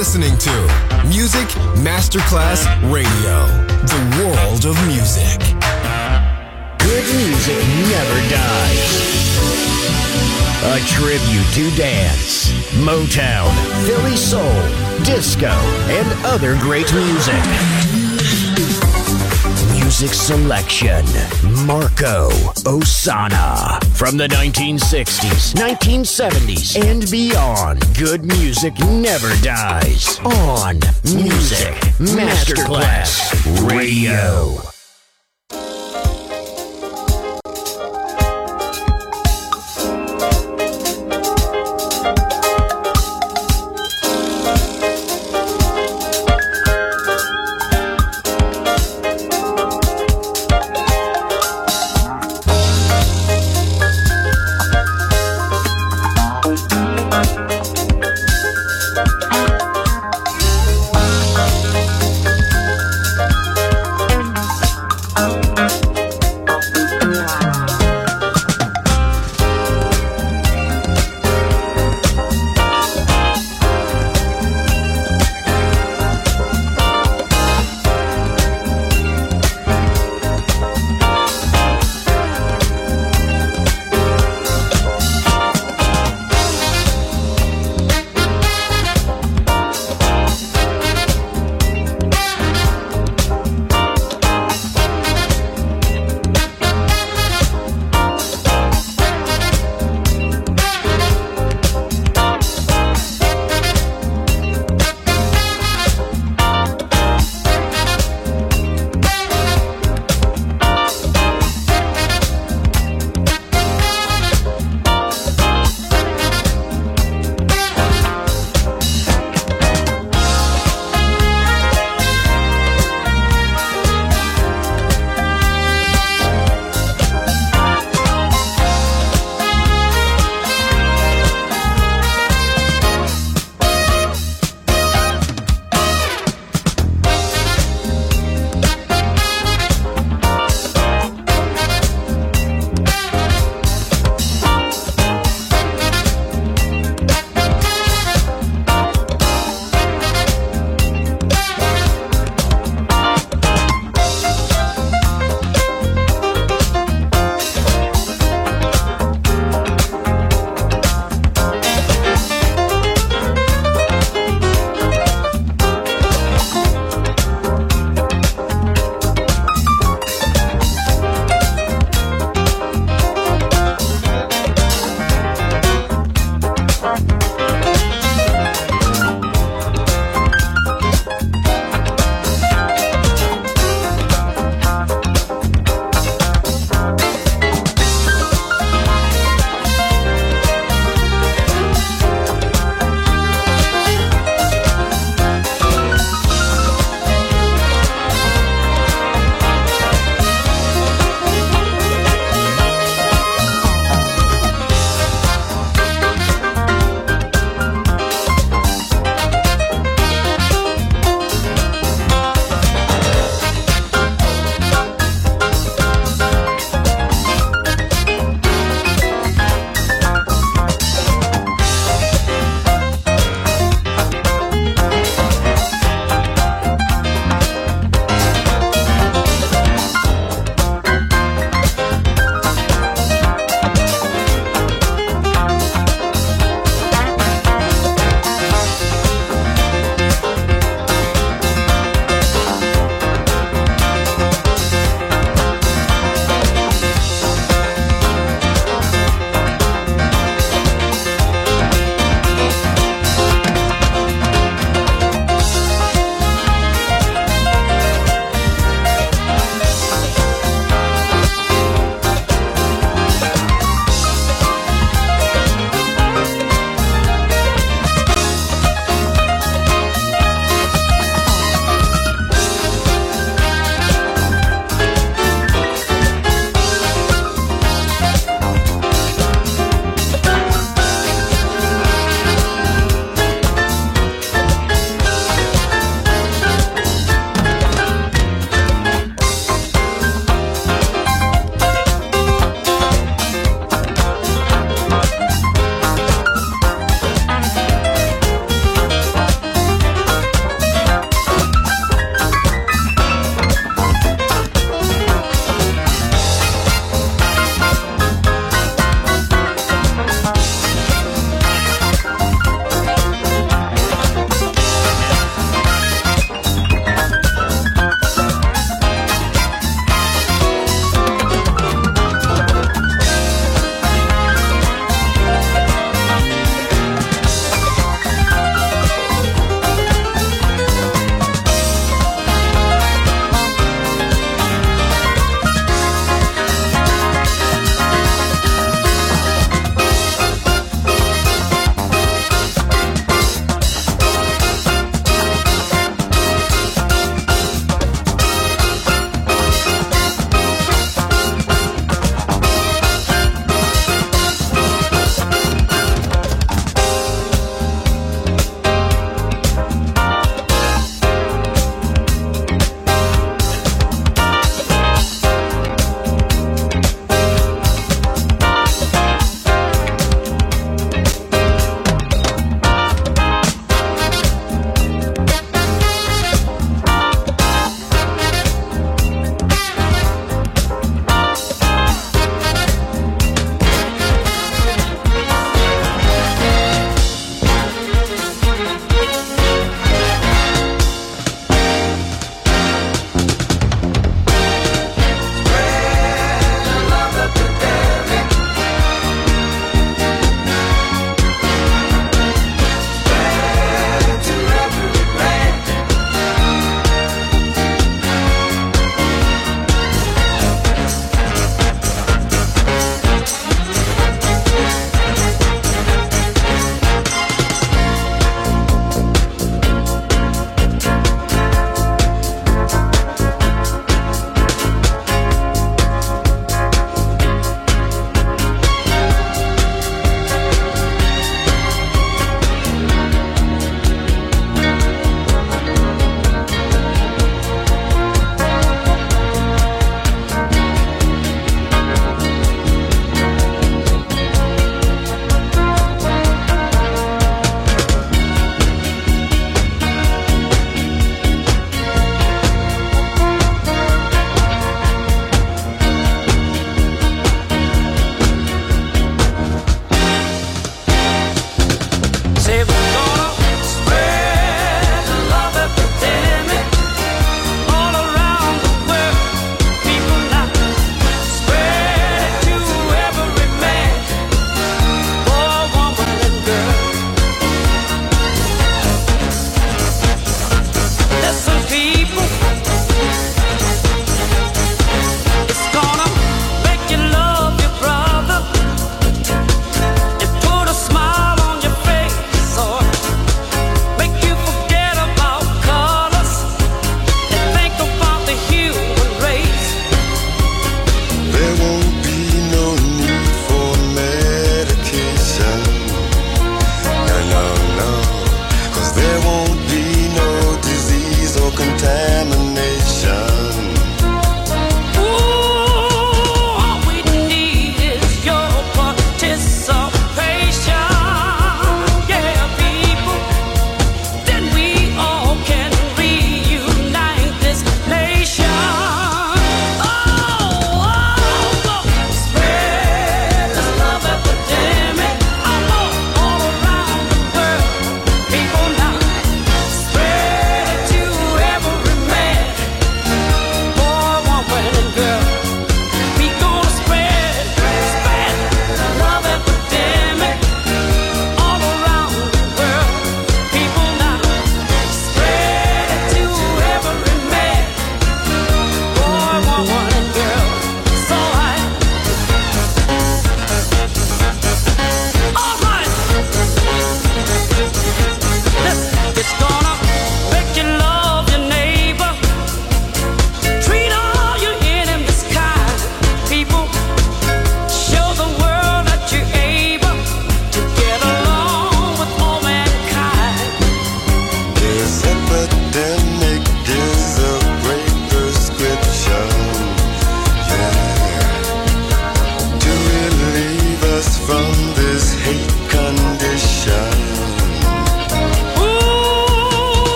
listening to Music Masterclass Radio, the world of music. Good music never dies. A tribute to dance, Motown, Philly soul, disco, and other great music. Music selection, Marco Ossanna. From the 1960s, 1970s, and beyond, good music never dies. On Music Masterclass Radio.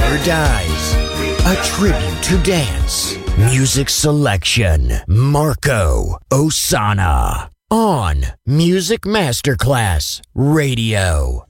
never dies. A tribute to dance. Music selection. Marco Ossanna. On Music Masterclass Radio.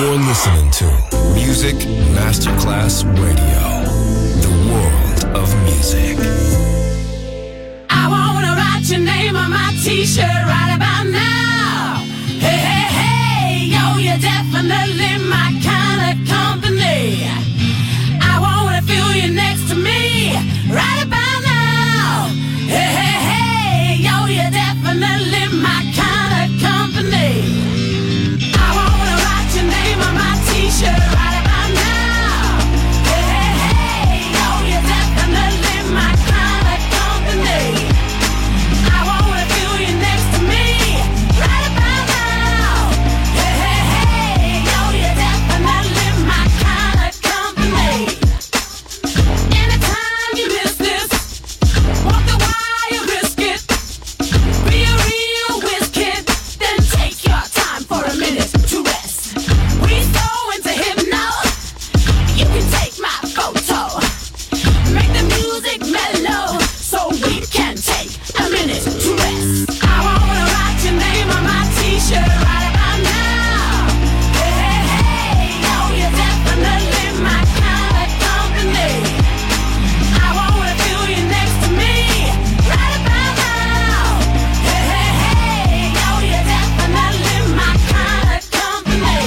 You're listening to Music Masterclass Radio, the world of music. I wanna write your name on my t-shirt right about now. Hey, hey, hey, yo, you're definitely my kind of company. I wanna feel you next to me right about now. Hey, hey, hey, yo, you're definitely my kind of company. I wanna write your name on my t-shirt right about now. Hey, hey, hey, yo, you're definitely my kind of company. I wanna feel you next to me right about now. Hey, hey, hey, yo, you're definitely my kind of company. Anytime you miss this, walk the wire, risk it. Be a real whiz kid, then take your time for a minute to rest. We go into hypno, you can take my photo. Make the music mellow, so we can take a minute to rest. I wanna write your name on my t-shirt right about now. Hey, hey, hey, yo, you're definitely my kind of company. I wanna feel you next to me right about now. Hey, hey, hey, yo, you're definitely my kind of company.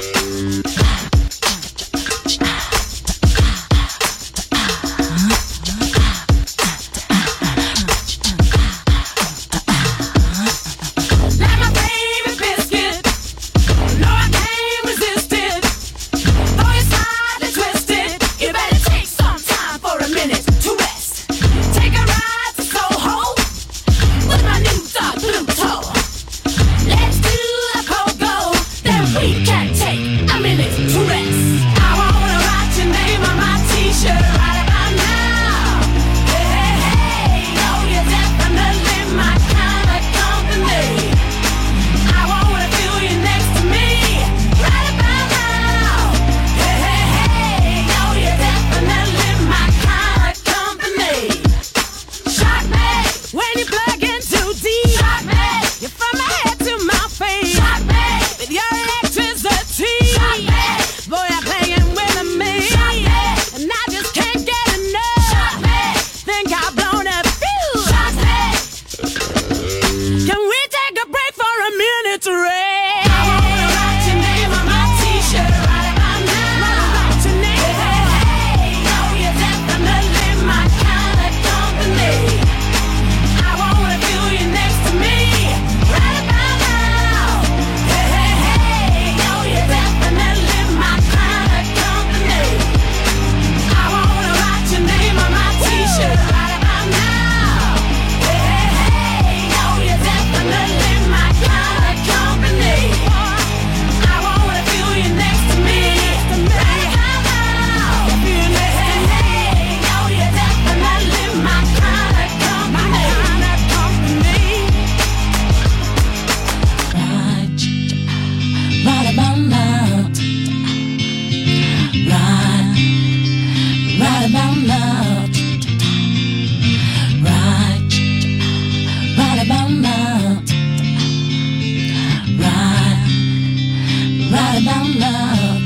Like my favorite biscuit, no, I can't resist it. Though you're slightly twisted, you better take some time for a minute to rest. Take a ride to Soho with my new dog Pluto. Let's do the pogo, then we can take a minute to rest. I wanna write your name on my t-shirt right about now. Hey, hey, hey, yo, you're definitely my kind of company. I wanna feel you next to me right about now. Hey, hey, hey, yo, you're definitely my kind of company. Shock me when you plug in too deep. Shock me, you're from my head to my feet. Shock me with your electricity. Shock me, boy, you're playing with me. Shock me, and I just can't get enough. Shock me, think I've blown a fuse. Shock me, can we take a break for a minute to rest? I wanna write your name on my t-shirt right about now. Wanna write your name. Hey, hey, hey, yo, you're definitely my kind of company. I wanna feel you next to me right about now. Hey, hey, hey, yo, you're definitely my kind of company. I wanna write your name on my t-shirt right about now. Hey, hey, hey, yo, you're definitely my kind of company. I wanna feel you next to me right about now. Hey, hey, hey, yo, you're definitely my kind of company. Right about now. Right about now. Right about now. Right about now.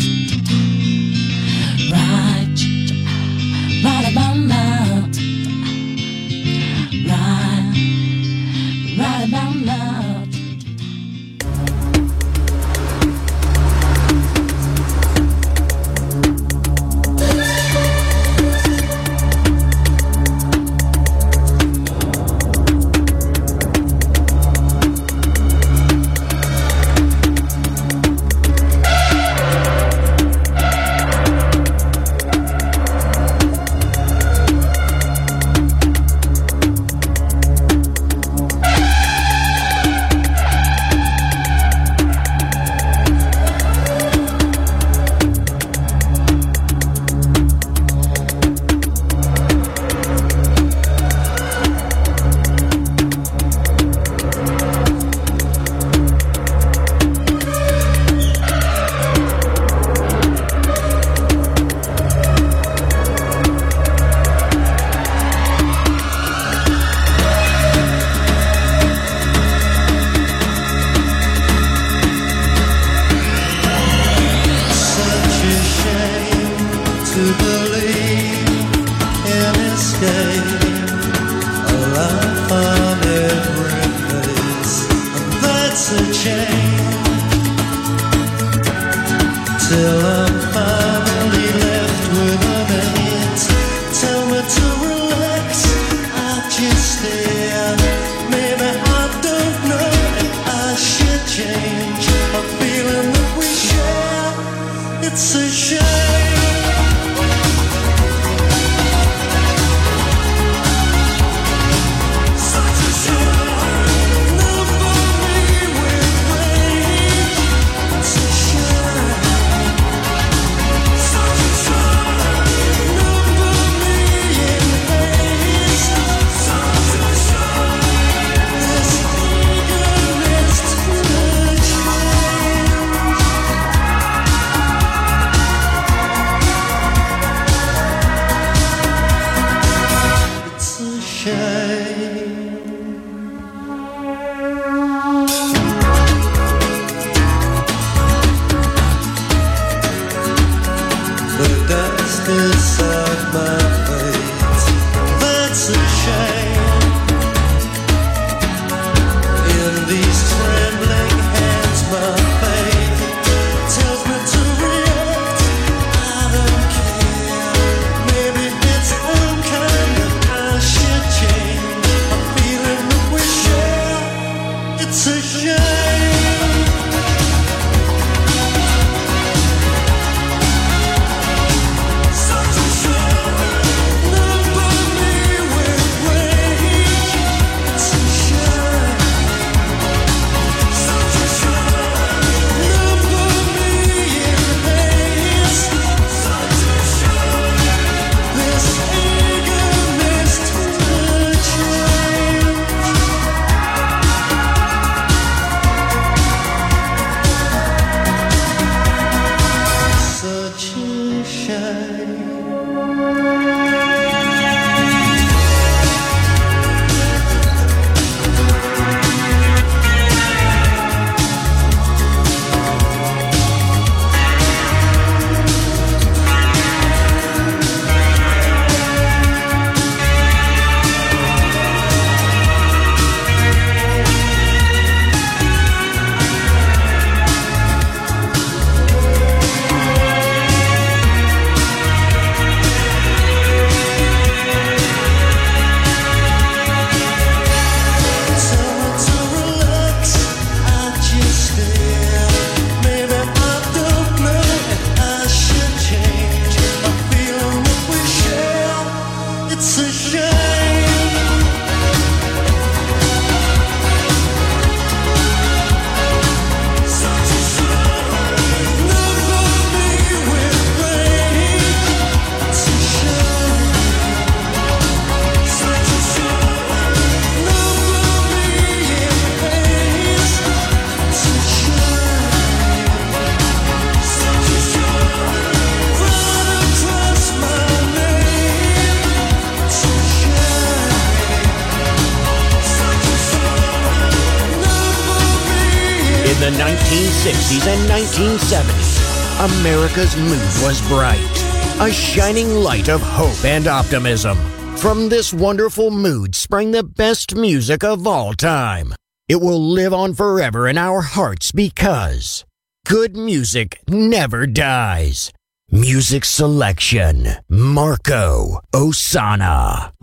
Right about now. Right about now. Still I'm finally left with a minute. Tell me to relax, I just stare. Maybe I don't know if I should change a feeling that we share. It's a shame. the 1960s and 1970s, America's mood was bright, a shining light of hope and optimism. From this wonderful mood sprang the best music of all time. It will live on forever in our hearts because good music never dies. Music selection, Marco Ossanna.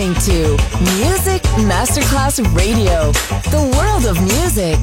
listening to Music Masterclass Radio, the world of music.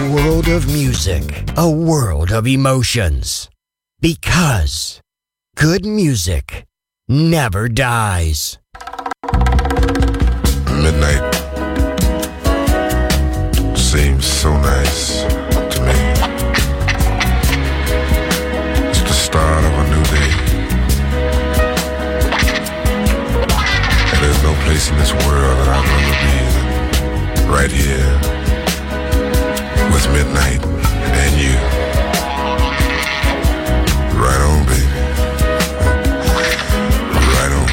world of music, a world of emotions. Because good music never dies. Midnight seems so nice to me. It's the start of a new day. And there's no place in this world that I'd rather be than right here with midnight and you. Right on, baby. Right on.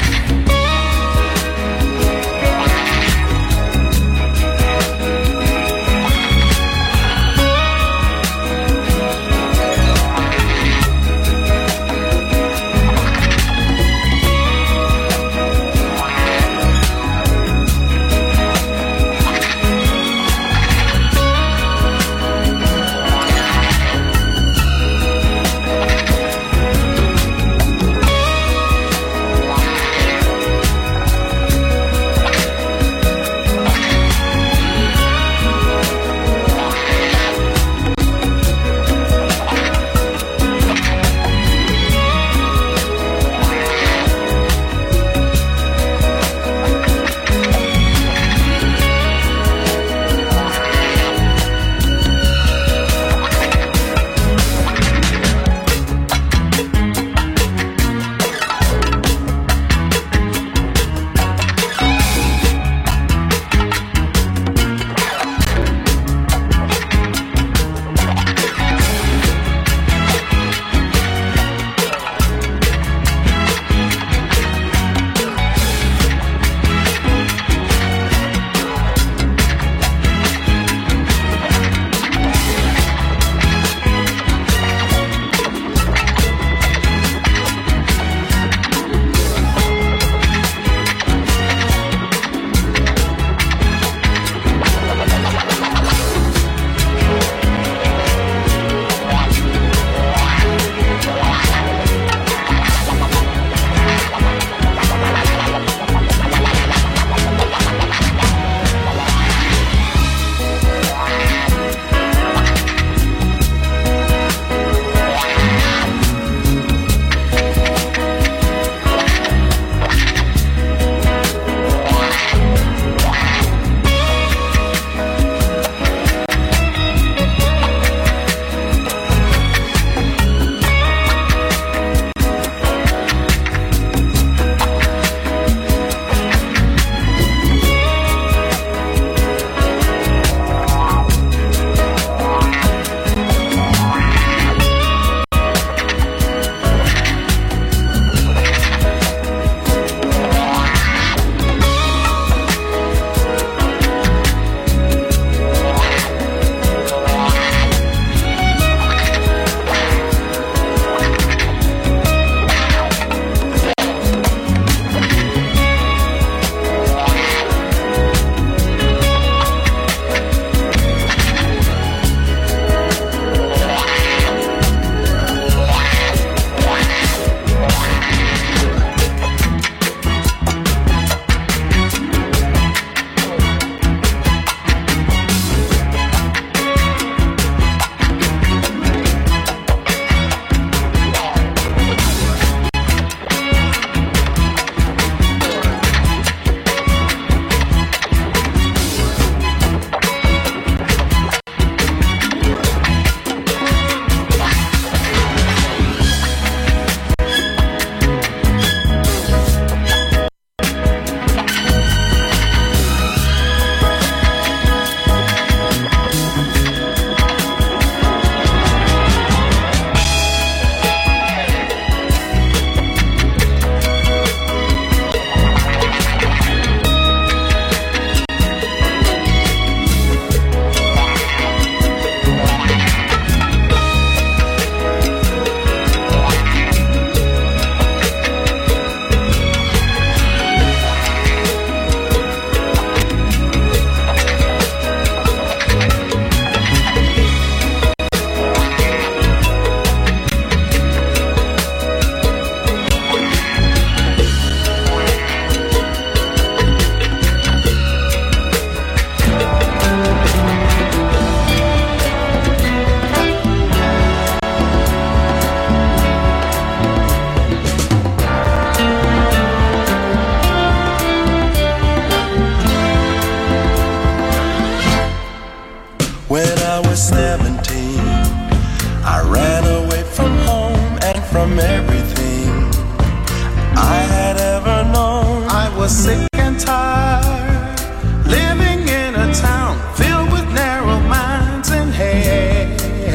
I ran away from home and from everything I had ever known. I was sick and tired, living in a town filled with narrow minds and hate.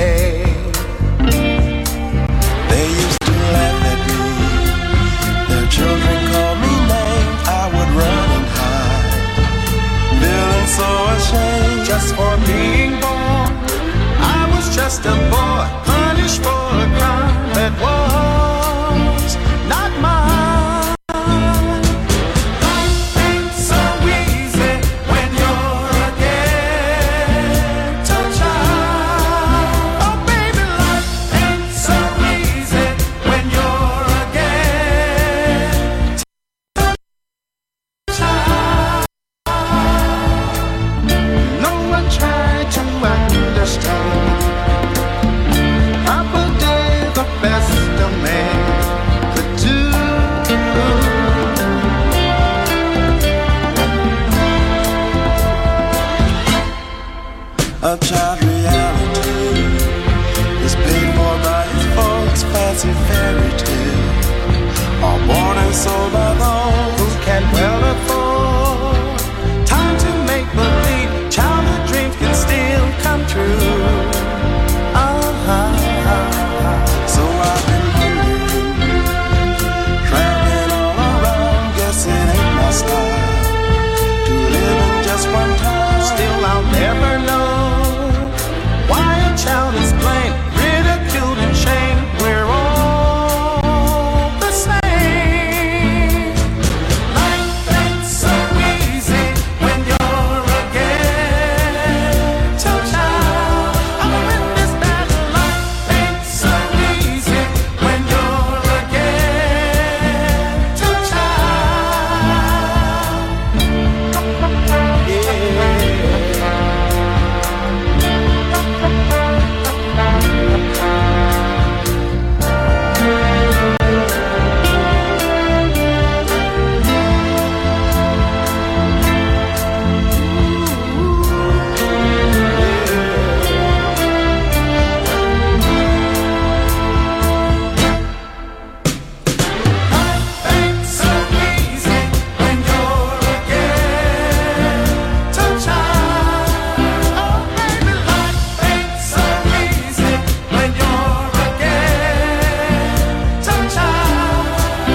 They used to laugh at me, their children called me names. I would run and hide, feeling so ashamed just for being born. I was just a boy, punished for a crime that was not mine. Life ain't so easy when you're a ghetto child. Oh baby, life ain't so easy when you're a ghetto child. No one tried to understand. Papa did the best a man could do. A child reality is paid for by his folks' fancy fairy tale, all born and sold by those who can well afford. Time to make believe childhood dreams can still come true. So I've been wondering, traveling all around, guess it ain't my style to live in just one time. Still I'll never know why a child is blamed, ridiculed and shamed. We're all the same. Life ain't so easy when you're a ghetto child. I'm in this battle. Life ain't so easy when you're a ghetto child. Yeah. Ain't so easy when you're a ghetto child. Oh baby, life ain't so easy when you're a ghetto child.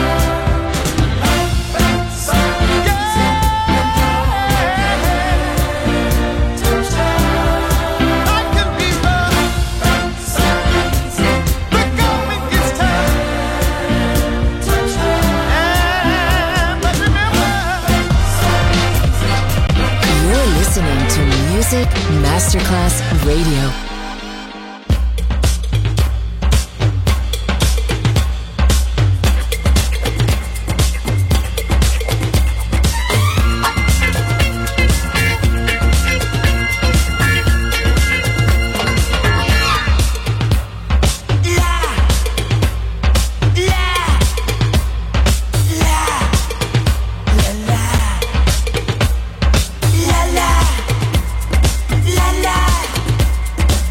Life ain't so easy when you're a ghetto child. Life can be rough, ain't so easy. The going gets tough. But remember, You're listening to Music Masterclass Radio. La la, la la.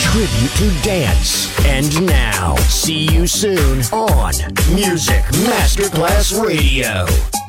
tribute to dance. And now, see you soon on Music Masterclass Radio.